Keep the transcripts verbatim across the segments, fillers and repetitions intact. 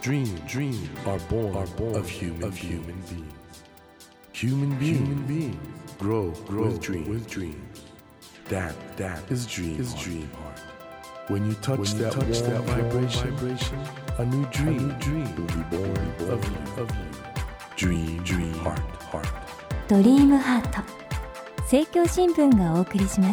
Dream, dreams are born, are born of human, of human beings. Human beings, human beings grow, grow with, dream, with dreams. That, that is dream, is dream heart. When you touch, when you that, touch warm, that vibration, vibration, a new dream, a new dream will be born, born of you, of you. Dream, dream heart, heart. ドリームハート、政教新聞がお送りします。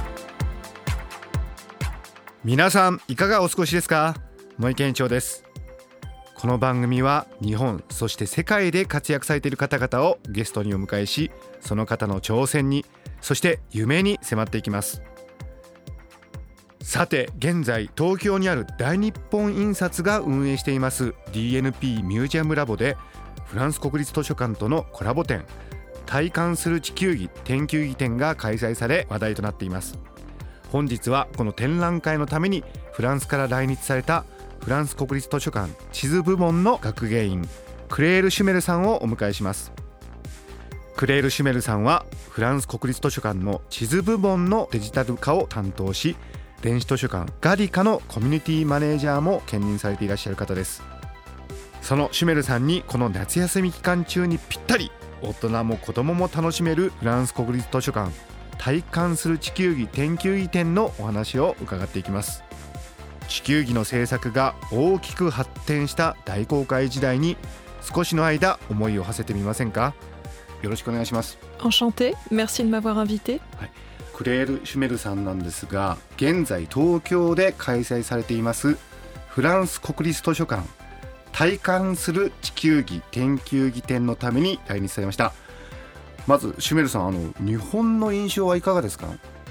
皆さんいかがお過ごしですか？森健一郎です。この番組は日本そして世界で活躍されている方々をゲストにお迎えし、その方の挑戦にそして夢に迫っていきます。さて現在東京にある大日本印刷が運営しています ディーエヌピー ミュージアムラボでフランス国立図書館とのコラボ展、体感する地球儀展球儀展が開催され話題となっています。本日はこの展覧会のためにフランスから来日されたフランス国立図書館地図部門の学芸員クレール・シュメルさんをお迎えします。クレール・シュメルさんはフランス国立図書館の地図部門のデジタル化を担当し、電子図書館ガリカのコミュニティマネージャーも兼任されていらっしゃる方です。そのシュメルさんにこの夏休み期間中にぴったり、大人も子供も楽しめるフランス国立図書館体感する地球儀展球儀展のお話を伺っていきます。地球儀の制作が大きく発展した大航海時代に少しの間思いを馳せてみませんか？よろしくお願いします。 Enchantée, merci de m'avoir invité、 はい、クレール・シュメルさんなんですが、現在東京で開催されていますフランス国立図書館体感する地球儀展球儀展のために来日されました。まずシュメルさん、あの日本の印象はいかがですか？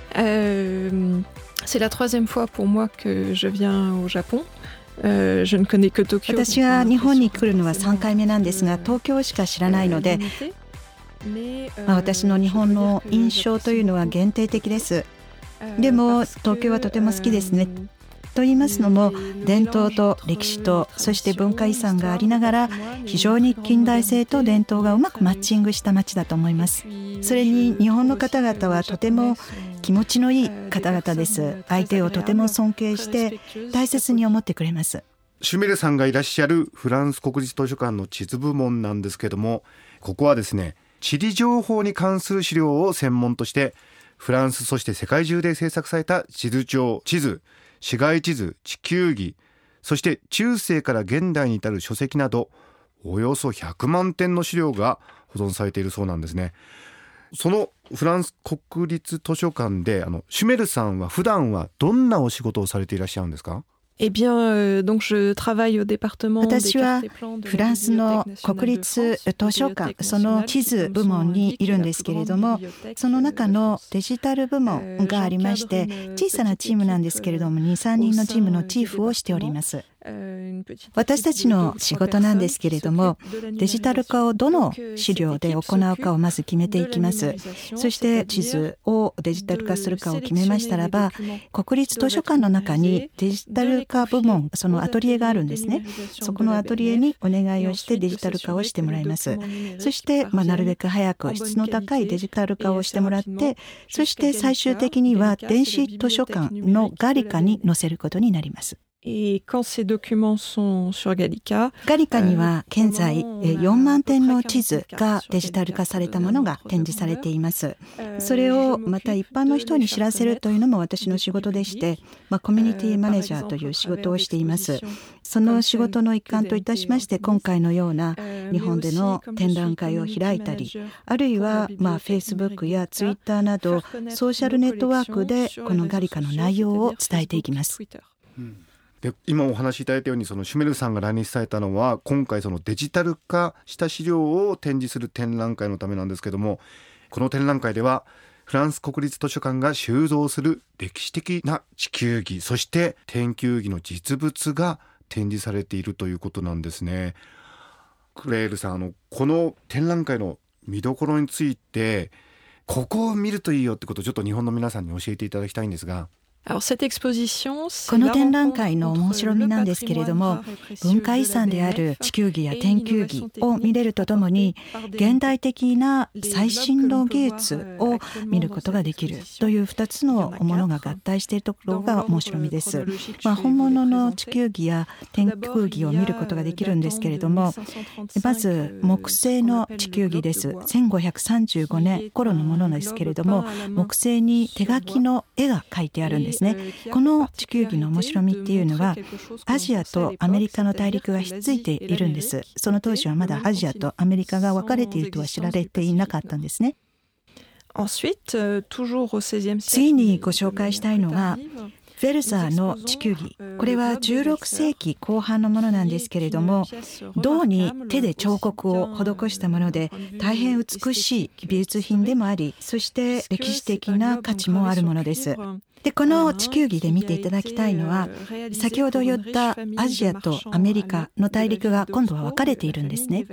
euh, C'est la troisième fois pour moi que je viens au Japon、euh, je ne connais que Tokyo。 私が日本に来るのはさんかいめなんですが、東京しか知らないので、まあ、私の日本の印象というのは限定的です。でも東京はとても好きですね。と言いますのも、伝統と歴史とそして文化遺産がありながら、非常に近代性と伝統がうまくマッチングした街だと思います。それに日本の方々はとても気持ちのいい方々です。相手をとても尊敬して大切に思ってくれます。 シュメルさんがいらっしゃるフランス国立図書館の地図部門なんですけども、ここはですね、地理情報に関する資料を専門としてフランスそして世界中で制作された地図帳、地図、市街地図、地球儀、そして中世から現代に至る書籍などおよそひゃくまんてんの資料が保存されているそうなんですね。そのフランス国立図書館で、あのシュメルさんは普段はどんなお仕事をされていらっしゃるんですか？ Eh bien, euh, donc je travaille au département des 私はフランスの国立図書館、その地図部門にいるんですけれども、その中のデジタル部門がありまして、小さなチームなんですけれども にさんにんのチームのチーフをしております。私たちの仕事なんですけれども、デジタル化をどの資料で行うかをまず決めていきます。そして地図をデジタル化するかを決めましたらば、国立図書館の中にデジタル化部門、そのアトリエがあるんですね。そこのアトリエにお願いをしてデジタル化をしてもらいます。そして、まあ、なるべく早く質の高いデジタル化をしてもらって、そして最終的には電子図書館のガリカに載せることになります。 Et quand ces documents sont sur Gallica、 ガリカには現在よんまんてんの地図がデジタル化されたものが展示されています。それをまた一般の人に知らせるというのも私の仕事でして、まあ、コミュニティマネージャーという仕事をしています。その仕事の一環といたしまして、今回のような日本での展覧会を開いたり、あるいはまあ Facebook や Twitter などソーシャルネットワークでこのガリカの内容を伝えていきます。 うん、で今お話しいただいたように、そのシュメルさんが来日されたのは今回そのデジタル化した資料を展示する展覧会のためなんですけども、この展覧会ではフランス国立図書館が収蔵する歴史的な地球儀、そして展球儀の実物が展示されているということなんですね。クレールさん、あのこの展覧会の見どころについて、ここを見るといいよってことをちょっと日本の皆さんに教えていただきたいんですが。 この展覧会の面白みなんですけれども、文化遺産である地球儀や天球儀を見れるとともに、現代的な最新の技術を見ることができるというふたつのものが合体しているところが面白みです。まあ、本物の地球儀や天球儀を見ることができるんですけれども、まず木製の地球儀です。せんごひゃくさんじゅうごねん頃のものですけれども、木製に手書きの絵が描いてあるんですね。この地球儀の面白みっていうのは、アジアとアメリカの大陸がひっついているんです。その当時はまだアジアとアメリカが分かれているとは知られていなかったんですね。次にご紹介したいのがヴェルサーの地球儀。これはじゅうろくせいきこう半のものなんですけれども、銅に手で彫刻を施したもので、大変美しい美術品でもあり、そして歴史的な価値もあるものです。で、この地球儀で見ていただきたいのは、先ほど言ったアジアとアメリカの大陸が今度は分かれているんですね。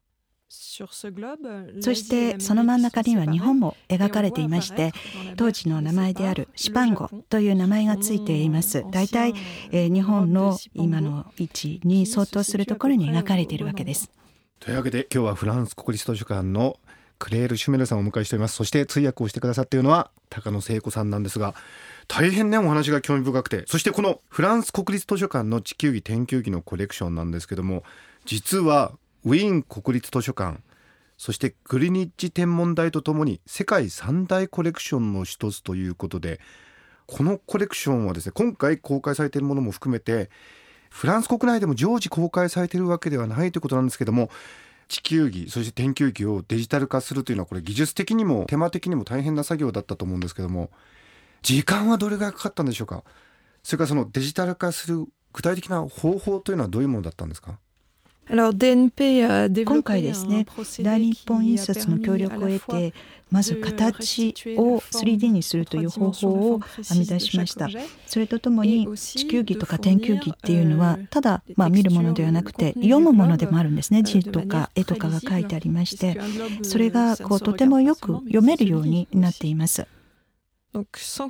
そしてその真ん中には日本も描かれていまして、当時の名前であるシパンゴという名前がついています。だいたい、えー、日本の今の位置に相当するところに描かれているわけです。 というわけで今日はフランス国立図書館のクレール・シュメルさんをお迎えしております。そして通訳をしてくださっているのは高野聖子さんなんですが、大変ねお話が興味深くて、そしてこのフランス国立図書館の地球儀天球儀のコレクションなんですけども、実はウィーン国立図書館、そしてグリニッジ天文台とともに世界三大コレクションの一つということで、このコレクションはですね、今回公開されているものも含めてフランス国内でも常時公開されているわけではないということなんですけども、地球儀そして天球儀をデジタル化するというのは、これ技術的にも手間的にも大変な作業だったと思うんですけども、時間はどれぐらいかかったんでしょうか。それからそのデジタル化する具体的な方法というのはどういうものだったんですか。 今回ですね、大日本印刷の協力を得て、まず形を スリーディー にするという方法を編み出しました。それとともに地球儀とか天球儀っていうのはただまあ見るものではなくて読むものでもあるんですね。字とか絵とかが書いてありまして、それがこうとてもよく読めるようになっています。で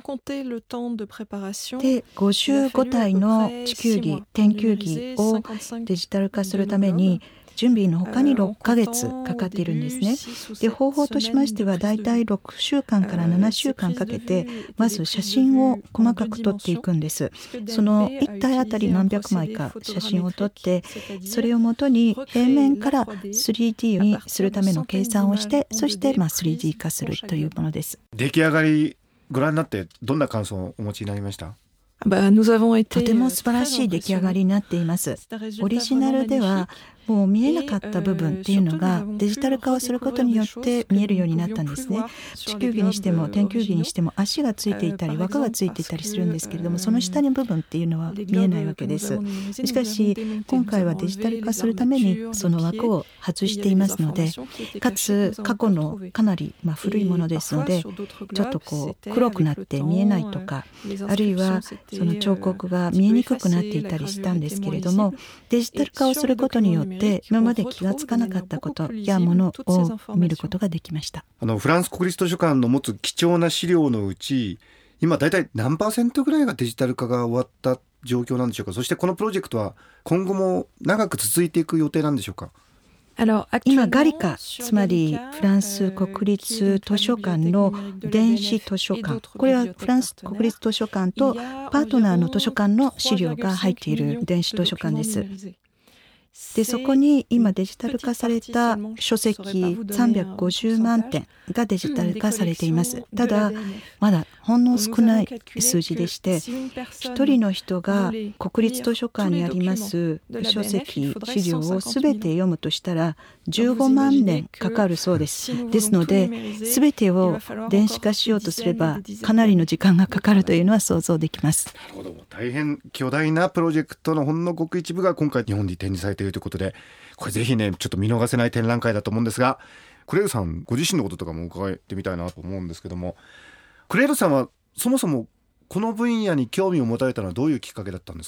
ごじゅうごたいの地球儀天球儀をデジタル化するために準備のほかにろっかげつかかっているんですね。で、方法としましてはだいたいろくしゅうかんからななしゅうかんかけてまず写真を細かく撮っていくんです。そのいったいあたり何百枚か写真を撮って、それをもとに平面から スリーディー にするための計算をして、そしてまあ スリーディー 化するというものです。 出来上がりご覧になってどんな感想をお持ちになりました？ とても素晴らしい出来上がりになっています。オリジナルではもう見えなかった部分っていうのがデジタル化をすることによって見えるようになったんですね。地球儀にしても天球儀にしても足がついていたり輪っかがついていたりするんですけれども、その下の部分っていうのは見えないわけです。しかし今回はデジタル化するためにその枠を外していますので、かつ過去のかなりまあ古いものですので、ちょっとこう黒くなって見えないとか、あるいはその彫刻が見えにくくなっていたりしたんですけれども、デジタル化をすることによってで今まで気がつかなかったことやものを見ることができました。 あのフランス国立図書館の持つ貴重な資料のうち、今だいたい何パーセントぐらいがデジタル化が終わった状況なんでしょうか。そしてこのプロジェクトは今後も長く続いていく予定なんでしょうか。 今ガリカ、つまりフランス国立図書館の電子図書館、これはフランス国立図書館とパートナーの図書館の資料が入っている電子図書館です。でそこに今デジタル化された書籍さんびゃくごじゅうまんてんがデジタル化されています。ただまだほんの少ない数字でして、一人の人が国立図書館にあります書籍資料をすべて読むとしたらじゅうごまんねんかかるそうです。ですのですべてを電子化しようとすればかなりの時間がかかるというのは想像できます。 なるほど。大変巨大なプロジェクトのほんのごく一部が今回日本に展示されているということで、これぜひねちょっと見逃せない展覧会だと思うんですが、クレールさんご自身のこととかも伺ってみたいなと思うんですけども、クレールさんはそもそもこの分野に興味を持たれたのはどういうきっかけだったんですか？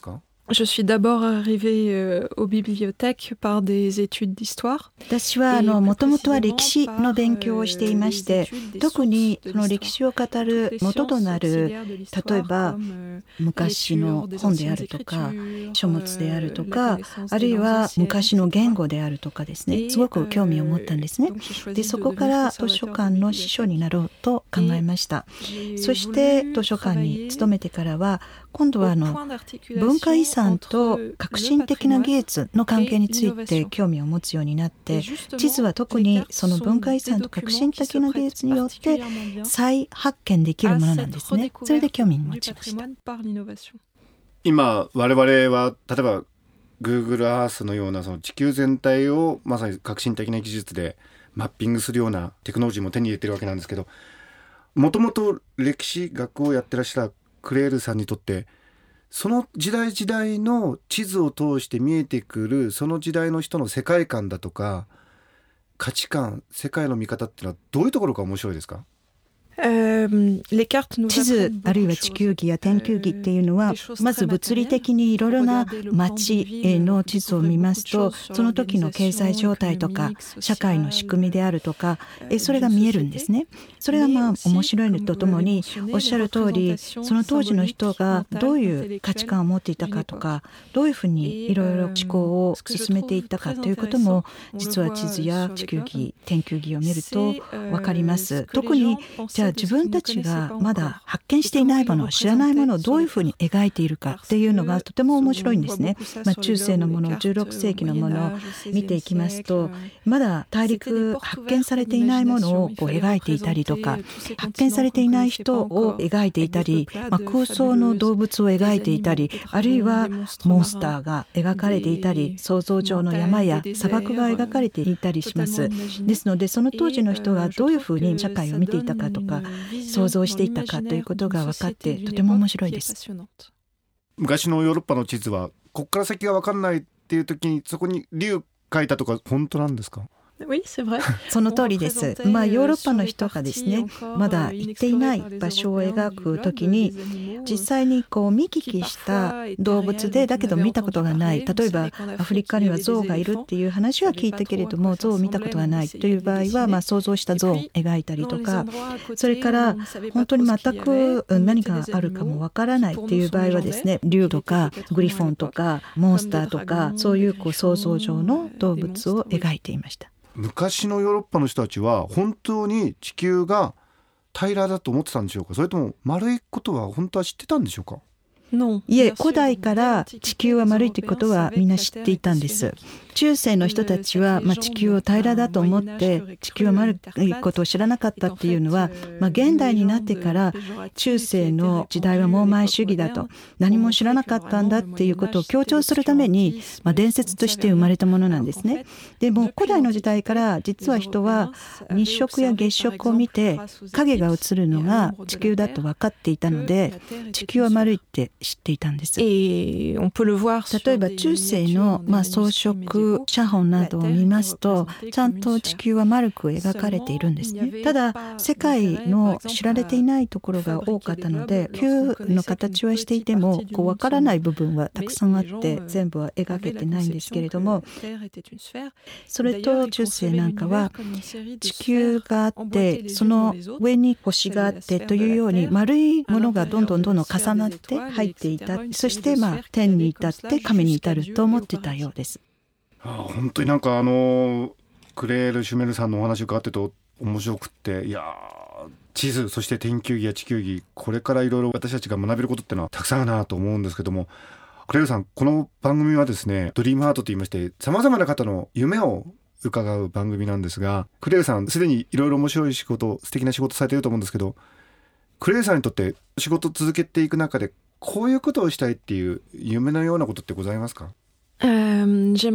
Je suis d'abord arrivée euh, aux bibliothèques par des études d'histoire. 私はあのもともとは歴史の勉強をしていまして、特にその歴史を語る元となる、例えば昔の本であるとか書物であるとか、あるいは昔の言語であるとかですね、すごく興味を持ったんですね。でそこから図書館の司書になろうと考えました。そして図書館に勤めてからは、今度はあの文化遺産と革新的な技術の関係について興味を持つようになって、地図は特にその文化遺産と革新的な技術によって再発見できるものなんですね。それで興味を持ちました。 今我々は例えば Google Earth のようなその地球全体をまさに革新的な技術でマッピングするようなテクノロジーも手に入れてるわけなんですけど、もともと歴史学をやってらっしゃるクレールさんにとって、その時代時代の地図を通して見えてくるその時代の人の世界観だとか価値観、世界の見方っていうのはどういうところが面白いですか？ 地図あるいは地球儀や天球儀っていうのは、まず物理的にいろいろな街の地図を見ますと、その時の経済状態とか社会の仕組みであるとか、それが見えるんですね。それがまあ面白いのとともに、おっしゃる通り、その当時の人がどういう価値観を持っていたかとか、どういうふうにいろいろ思考を進めていったかということも、実は地図や地球儀、天球儀を見ると分かります。特にじゃあ自分たちがまだ発見していないもの、知らないものをどういうふうに描いているかっていうのがとても面白いんですね。まあ、中世のもの、じゅうろくせいきのものを見ていきますと、まだ大陸発見されていないものをこう描いていたりとか、発見されていない人を描いていたり、まあ、空想の動物を描いていたり、あるいはモンスターが描かれていたり、想像上の山や砂漠が描かれていたりします。ですので、その当時の人がどういうふうに社会を見ていたかとか、想像していたかということが分かってとても面白いです。 昔のヨーロッパの地図はここから先が分かんないっていう時にそこに竜書いたとか本当なんですか？ その通りです。まあ、ヨーロッパの人がですね、まだ行っていない場所を描くときに、実際にこう見聞きした動物でだけど見たことがない、例えばアフリカにはゾウがいるっていう話は聞いたけれども、ゾウを見たことがないという場合は、まあ想像したゾウを描いたりとか、それから本当に全く何があるかもわからないっていう場合はですね、竜とかグリフォンとかモンスターとか、そういうこう想像上の動物を描いていました。 昔のヨーロッパの人たちは本当に地球が平らだと思ってたんでしょうか？それとも丸いことは本当は知ってたんでしょうか？ いえ、古代から地球は丸いということはみんな知っていたんです。中世の人たちは、まあ、地球を平らだと思って地球は丸いことを知らなかったっていうのは、まあ、現代になってから中世の時代は盲前主義だと、何も知らなかったんだっていうことを強調するために、まあ、伝説として生まれたものなんですね。でも古代の時代から実は人は日食や月食を見て影が映るのが地球だと分かっていたので、地球は丸いって知っていたんです。例えば中世の、まあ、装飾写本などを見ますと、ちゃんと地球は丸く描かれているんですね。ただ世界の知られていないところが多かったので、球の形はしていてもこう分からない部分はたくさんあって全部は描けてないんですけれども、それと中世なんかは地球があってその上に星があってというように、丸いものがどんどんどんどん重なって入っていた。そしてまあ天に至って神に至ると思ってたようです。 ああ、本当になんかあのクレール・シュメルさんのお話を伺ってると面白くって、いや地図、そして天球儀や地球儀、これからいろいろ私たちが学べることってのはたくさんあるなと思うんですけども、クレールさん、この番組はですね、ドリームハートと言いまして、さまざまな方の夢を伺う番組なんですが、クレールさんすでにいろいろ面白い仕事、素敵な仕事されていると思うんですけど、クレールさんにとって仕事を続けていく中でこういうことをしたいっていう夢のようなことってございますか？ 私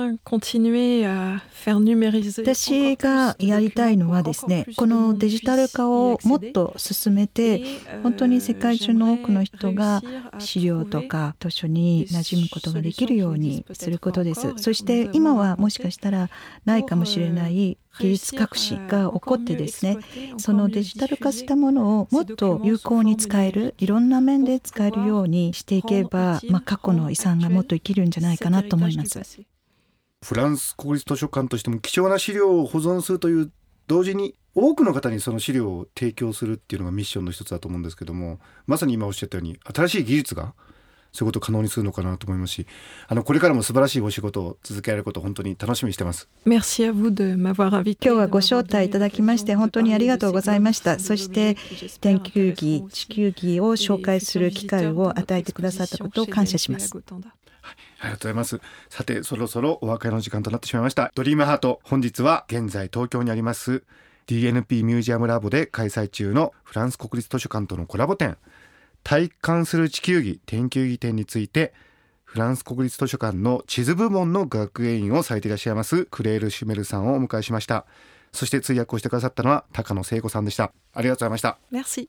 がやりたいのはですね、このデジタル化をもっと進めて、本当に世界中の多くの人が資料とか図書に馴染むことができるようにすることです。そして今はもしかしたらないかもしれない技術革新が起こってですね、そのデジタル化したものをもっと有効に使える、いろんな面で使えるようにしていけば、まあ、過去の遺産がもっと生きるんじゃないかなと思います。 フランス国立図書館としても貴重な資料を保存するという同時に、多くの方にその資料を提供するっていうのがミッションの一つだと思うんですけども、まさに今おっしゃったように新しい技術がそういうことを可能にするのかなと思いますし、あのこれからも素晴らしいお仕事を続けられることを本当に楽しみにしてます。 Merci à vous de m'avoir invité. 今日はご招待いただきまして本当にありがとうございました。そして天球儀、地球儀を紹介する機会を与えてくださったことを感謝します。 はい、ありがとうございます。さて、そろそろお別れの時間となってしまいました。ドリームハート、本日は現在東京にあります ディーエヌピー ミュージアムラボで開催中のフランス国立図書館とのコラボ展、体感する地球儀天球儀展について、フランス国立図書館の地図部門の学芸員をされていらっしゃいますクレール・シュメルさんをお迎えしました。そして通訳をしてくださったのは高野聖子さんでした。ありがとうございました。 Merci.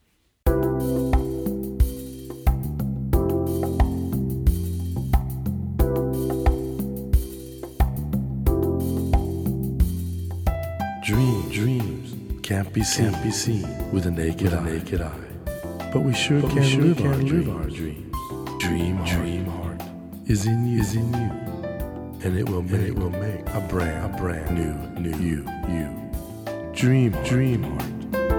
Dreams, dreams can't be seen, can't be seen with a naked, with a naked eye. eye. But we sure, but can, we sure live, can our live our dreams. Dream, dream heart, heart is in you, is in you, and it will make, and it will make a brand, a brand new, new you, you. Dream, dream heart.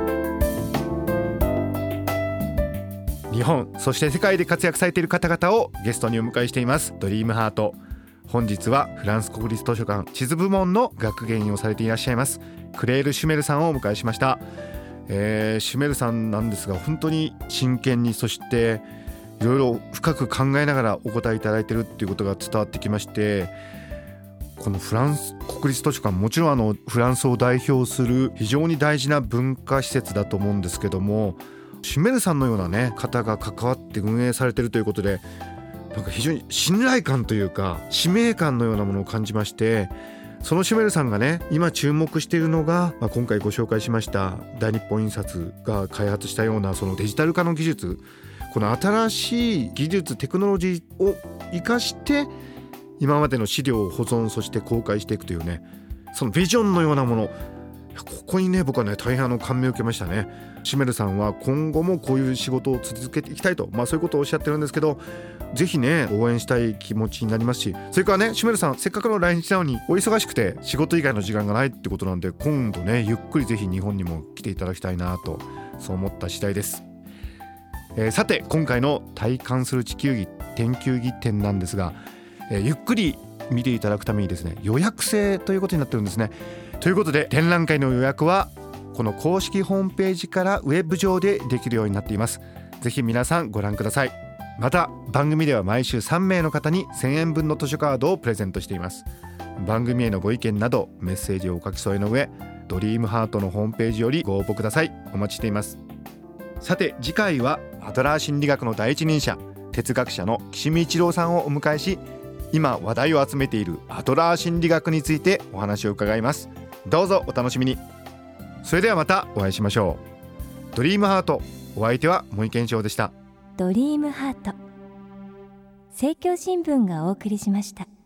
日本そして世界で活躍されている方々をゲストにお迎えしていますドリームハート。本日はフランス国立図書館地図部門の学芸員をされていらっしゃいますクレール・シュメルさんをお迎えしました。えー、シュメルさんなんですが、本当に真剣に、そしていろいろ深く考えながらお答えいただいているっていうことが伝わってきまして、このフランス国立図書館、もちろんあのフランスを代表する非常に大事な文化施設だと思うんですけども、シュメルさんのような、ね、方が関わって運営されているということで、なんか非常に信頼感というか使命感のようなものを感じまして、そのシュメルさんがね、今注目しているのが、まあ、今回ご紹介しました大日本印刷が開発したようなそのデジタル化の技術、この新しい技術テクノロジーを生かして今までの資料を保存、そして公開していくというね、そのビジョンのようなもの、ここにね僕はね大変あの感銘を受けましたね。シュメルさんは今後もこういう仕事を続けていきたいと、まあ、そういうことをおっしゃってるんですけど、ぜひね応援したい気持ちになりますし、それからねシュメルさんせっかくの来日なのにお忙しくて仕事以外の時間がないってことなんで、今度ねゆっくりぜひ日本にも来ていただきたいなと、そう思った次第です。えー、さて今回の体感する地球儀天球儀展なんですが、えー、ゆっくり見ていただくためにですね予約制ということになってるんですね。ということで展覧会の予約はこの公式ホームページからウェブ上でできるようになっています。ぜひ皆さんご覧ください。また番組では毎週さんめいの方にせんえんぶんの図書カードをプレゼントしています。番組へのご意見などメッセージをお書き添えの上、ドリームハートのホームページよりご応募ください。お待ちしています。さて次回はアドラー心理学の第一人者、哲学者の岸見一郎さんをお迎えし、今話題を集めているアドラー心理学についてお話を伺います。どうぞお楽しみに。それではまたお会いしましょう。ドリームハート、お相手は森健翔でした。 ドリームハート、政教新聞がお送りしました。